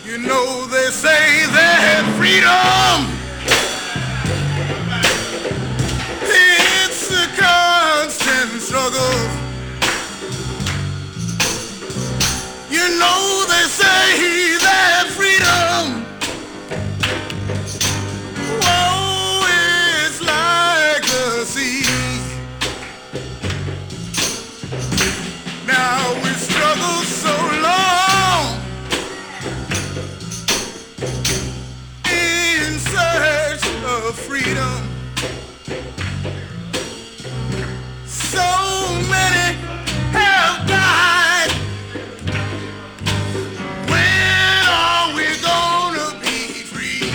You know they say that freedom, it's a constant struggle. You know they say that freedom, whoa, it's like the sea. Now we struggle so long in search of freedom. So many have died. When are we gonna be free?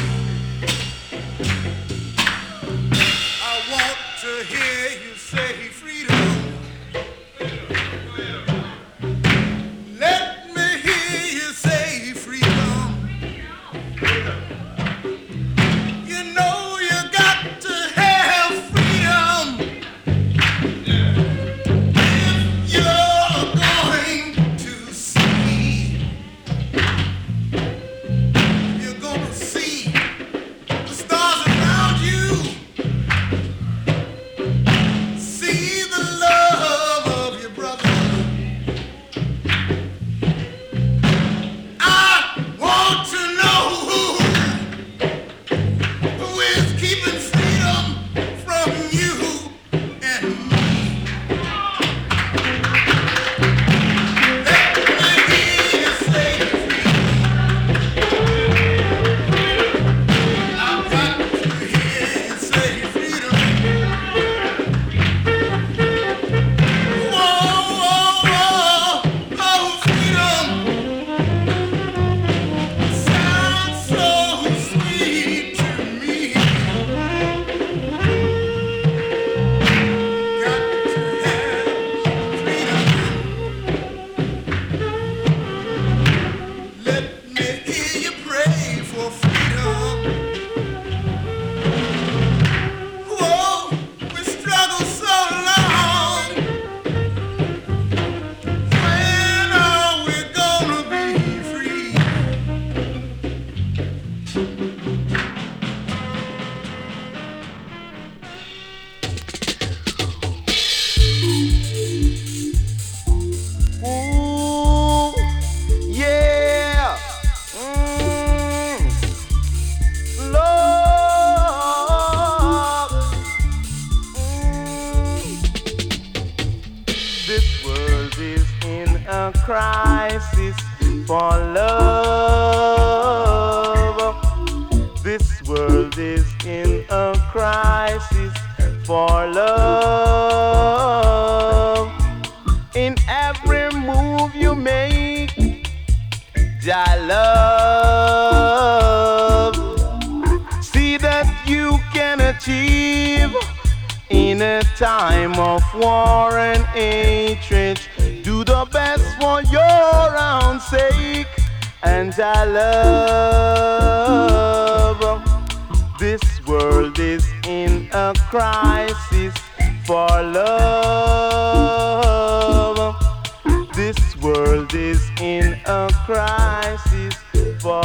I want to hear you say freedom. Let me hear you say freedom. You know you got to have freedom if you're going to see. You're gonna see the stars around you. See the love of your brother. I want to know who is keeping freedom from you and me. Let me hear you say freedom. I've got to hear you say freedom. Whoa, whoa, whoa, oh, freedom. Sounds so sweet to me. Got to have freedom. Let me hear you pray for freedom. Whoa, we struggle so long. When are we gonna be free? Ooh, yeah. Lord. This world is in a crisis for love. This world is in a crisis for love. In every move you make, I love. See that you can achieve in a time of war and hatred. Do the best for your own sake, and I love. This world is in a crisis for love. This world is in a crisis for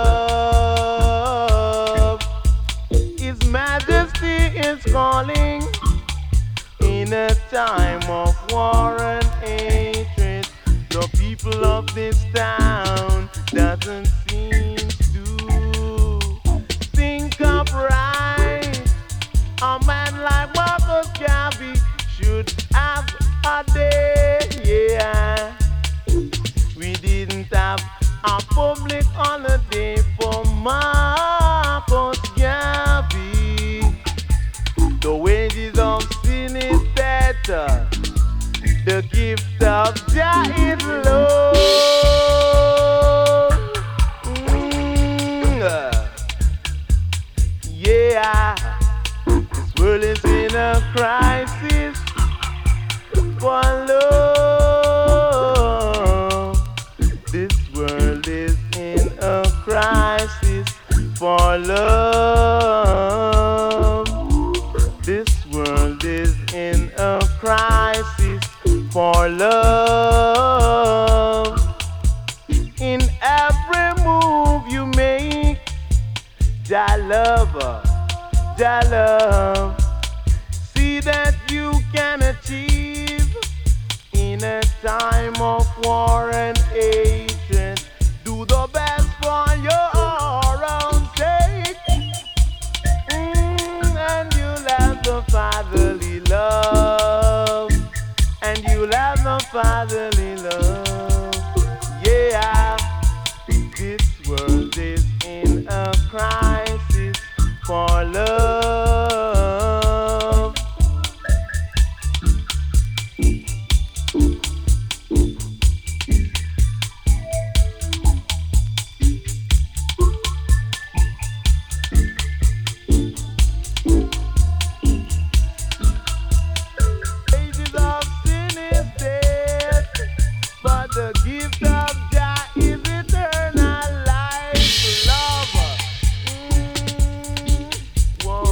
love. His Majesty is calling in a time of war and hatred. The people of this town doesn't seem to think of right. A man like Marcus Garvey should have a day, yeah. We didn't have a public holiday for Marcus Garvey. The wages of sin is better. The gift of Jah is love. Yeah, this world is in a crisis for love. This world is in a crisis for love. This world is in a crisis for love. In every move love, Jah love. See that you can achieve in a time of war and hatred. Do the best for your own sake, and you'll have the fatherly love, and you'll have the fatherly love. Yeah, this world is in a crisis for love. Ages of sin is dead, but the gift of Jah is eternal life. Love. Whoa.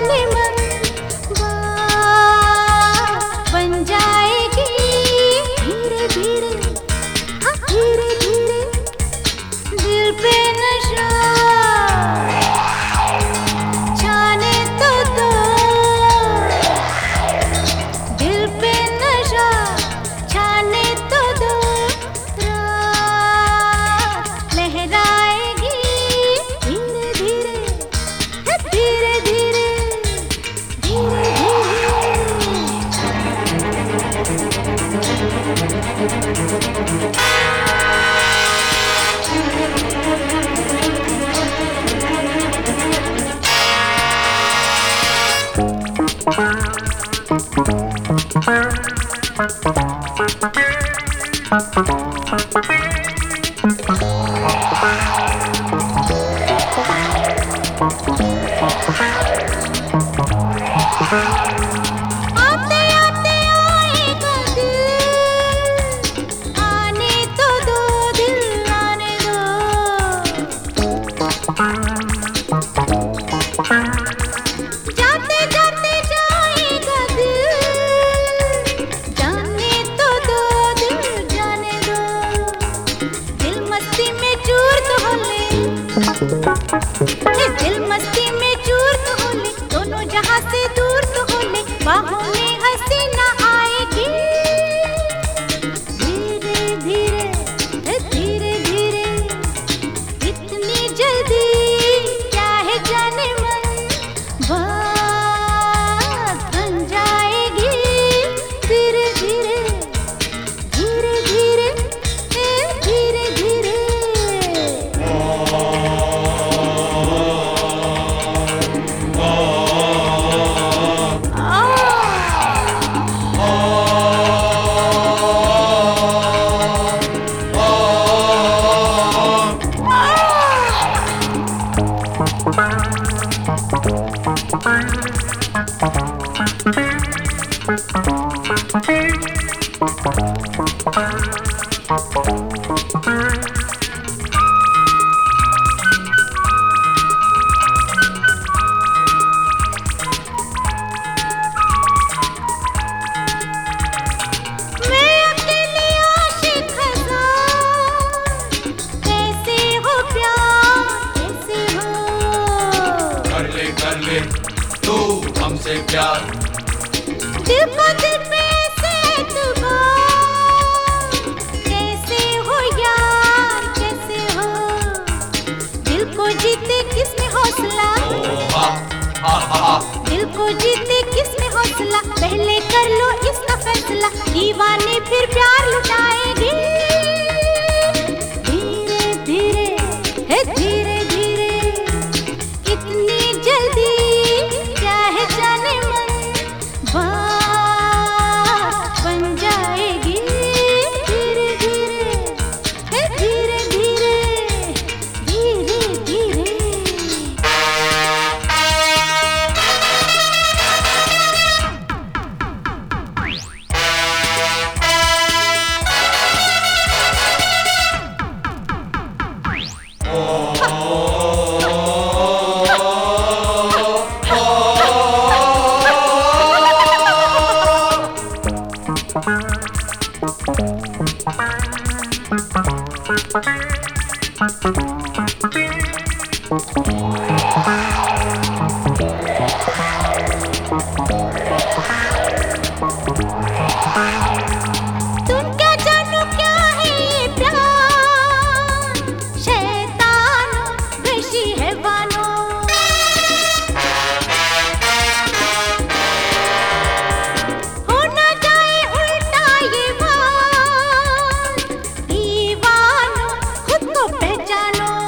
जाने मन बात बन जाएगी धीरे धीरे, हाँ धीरे धीरे दिल पे नशा छाने तो दो, दिल पे नशा छाने तो दो, रात लहराएगी धीरे धीरे, धीरे धीरे, धीरे आते आते आएगा दिल, आने तो दो दिल, आने दो, जाते जाते जाएगा दिल, जाने तो दो दिल, जाने दो, दिल मस्ती में चूर तो हो ले, दिल मस्ती में चूर तो हो ले, दोनों जहां से दूर तो हो ले, बाहों में हसीना आएगी धीरे धीरे, धीरे धीरे, इतनी जल्दी क्या है जाने मन, बात बन जाएगी धीरे धीरे, धीरे धीरे, धीरे धीरे। मैं अकेली आशिक हज़ार, कैसे हो प्यार, कैसे हो, कर ले तू हमसे प्यार, दिल को दिल पे से एतबार, कैसे हो यार, कैसे हो, दिल को जीते किसमें हौसला, दिल को जीते किसमें हौसला, पहले कर लो इसका फैसला, दीवाने फिर प्यार लुटाएगी धीरे धीरे, धीरे धीरे, कितनी जल्दी क्या है जाने मन, बात बन जाएगी धीरे धीरे, धीरे धीरे, धीरे धीरे। तुम क्या जानो क्या है ये प्यार, शैतानो वहशी हैवानो, हो ना जाए उल्टा ये वार, दीवानो खुद को पहचानो,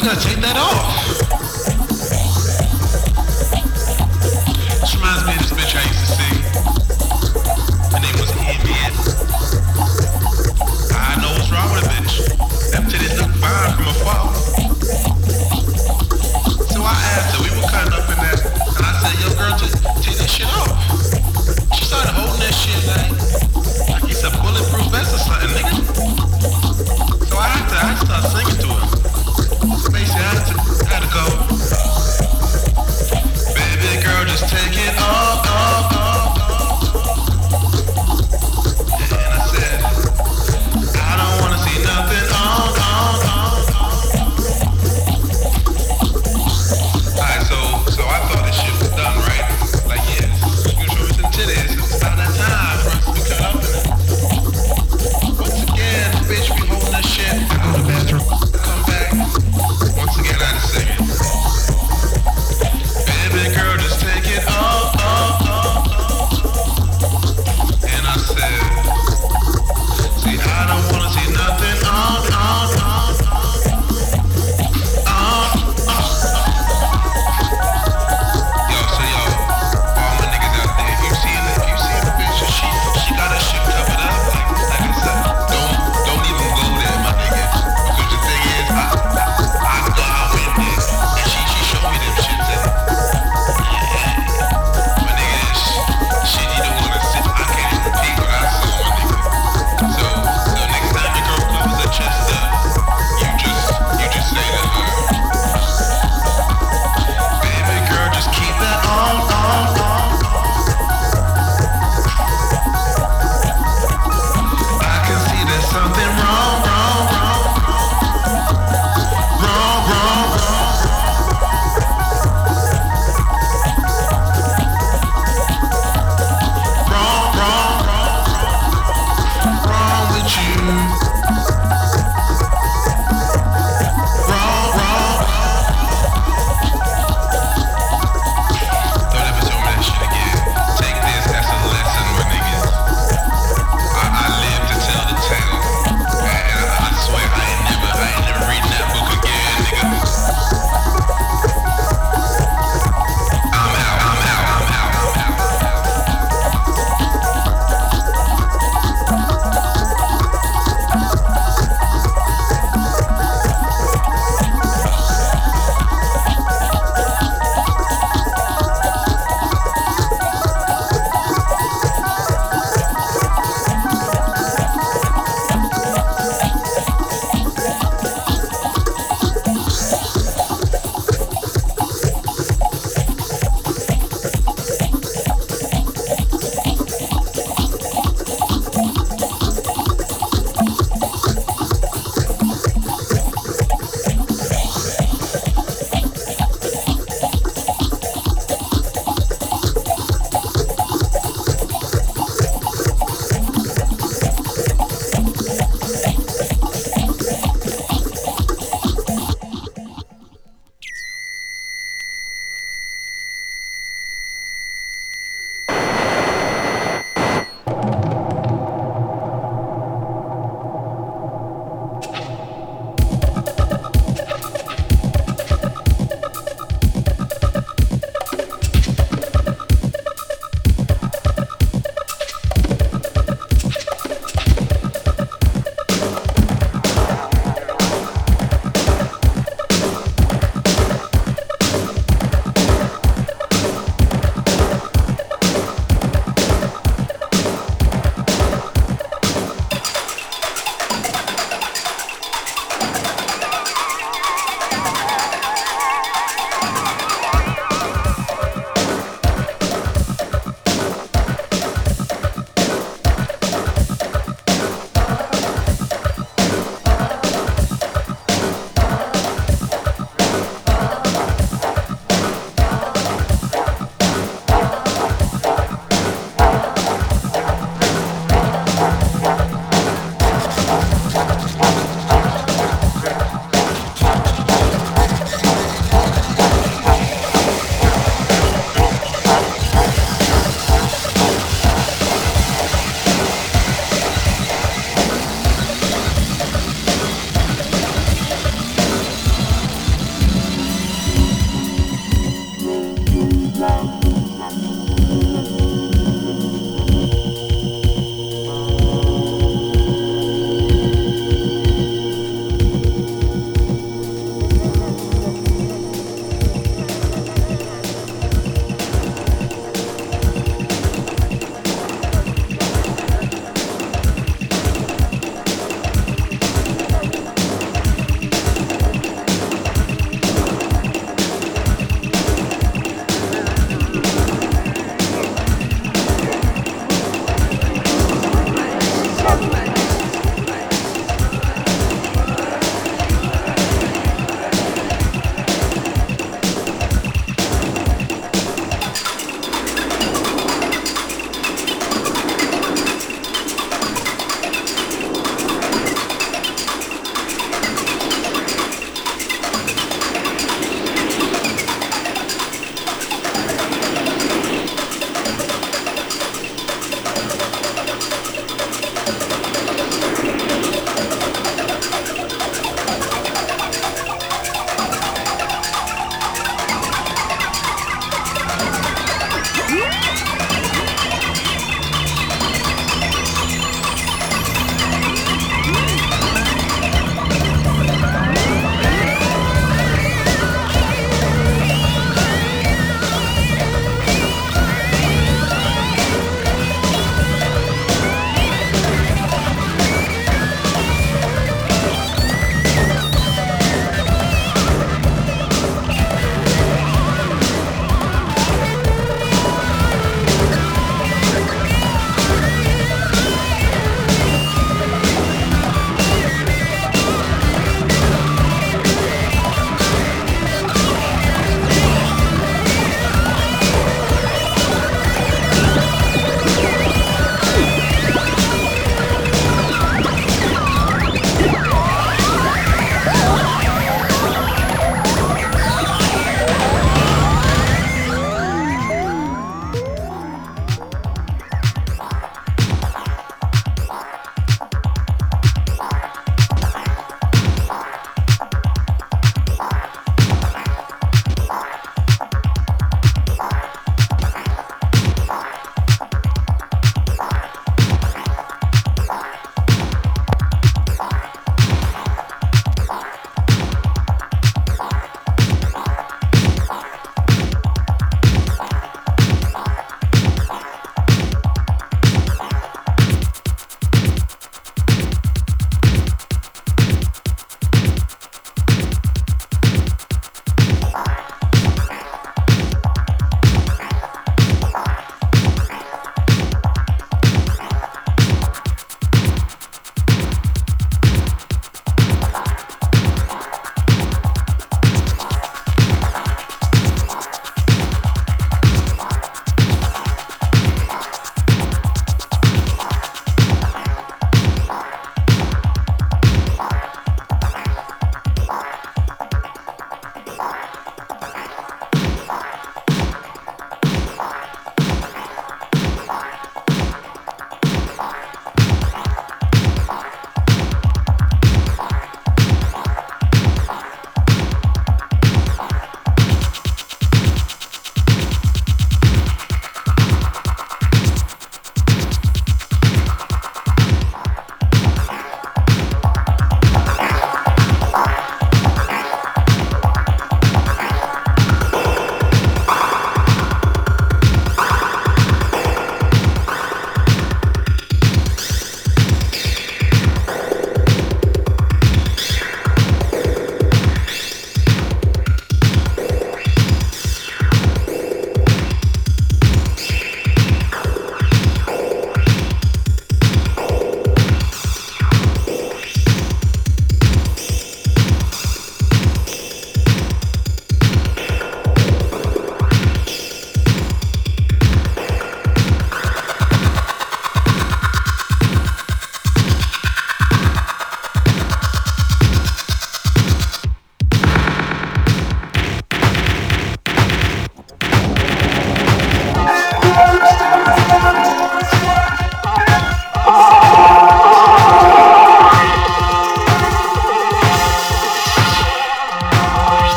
You gotta take that off. This reminds me of this bitch I used to see. Her name was Ambient. I know what's wrong with a bitch. Them titties look fine from afar. So I asked her, we were cutting up in that, and I said, yo girl, just take that shit off. She started holding that shit like it's a bulletproof vest or something, nigga. So I had to start singing to her. Basically, I had to go. Baby girl, just take it off, off, off, off. And I said, I don't wanna see nothing on, on, on, on. Alright, so I thought this shit was done, right? Like, yes, you can show me some titties. It's about that time for us to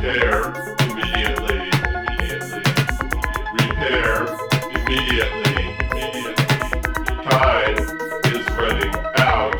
Repair immediately. Repair immediately. Time is running out.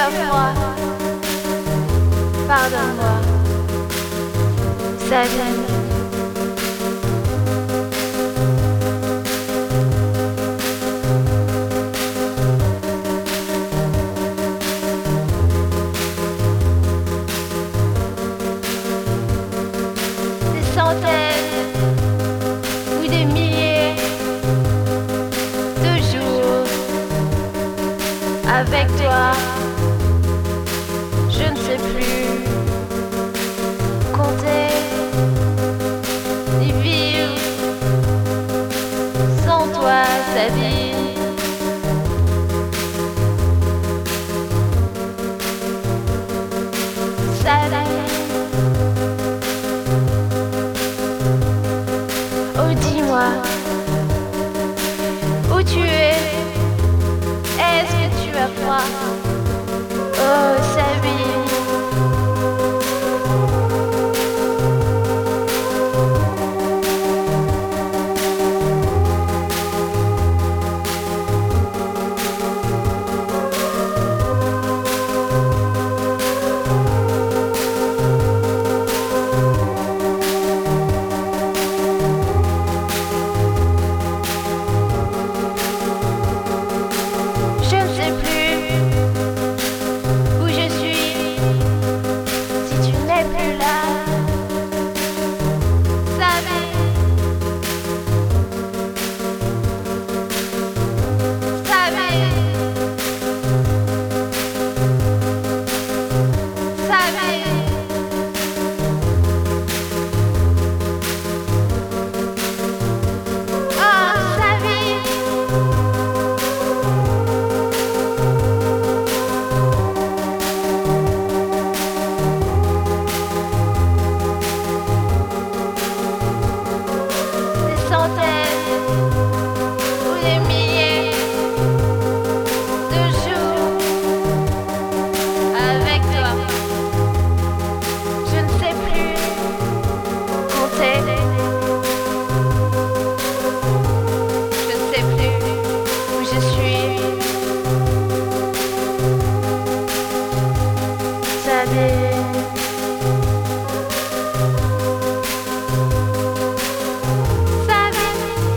as froid. Pardonne-moi. Sabine. Des centaines ou des milliers de jours avec toi, je ne sais plus compter ni vivre sans toi, Sabine. Sabine. Oh, dis-moi où tu es. Est-ce que tu as froid? Oh, Sabine. Je ne sais plus où je suis si tu n'es plus là. Sabine. Sabine. Sabine. Oh, Sabine. Des centaines ou des milliers de jours avec toi. Je ne sais plus compter. Je ne sais plus où je suis. Sabine. Sabine.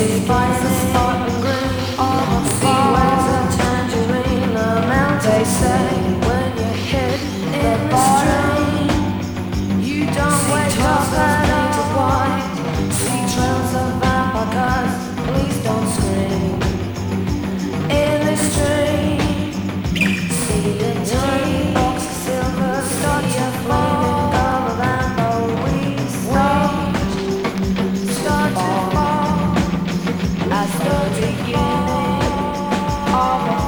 As the beginning of a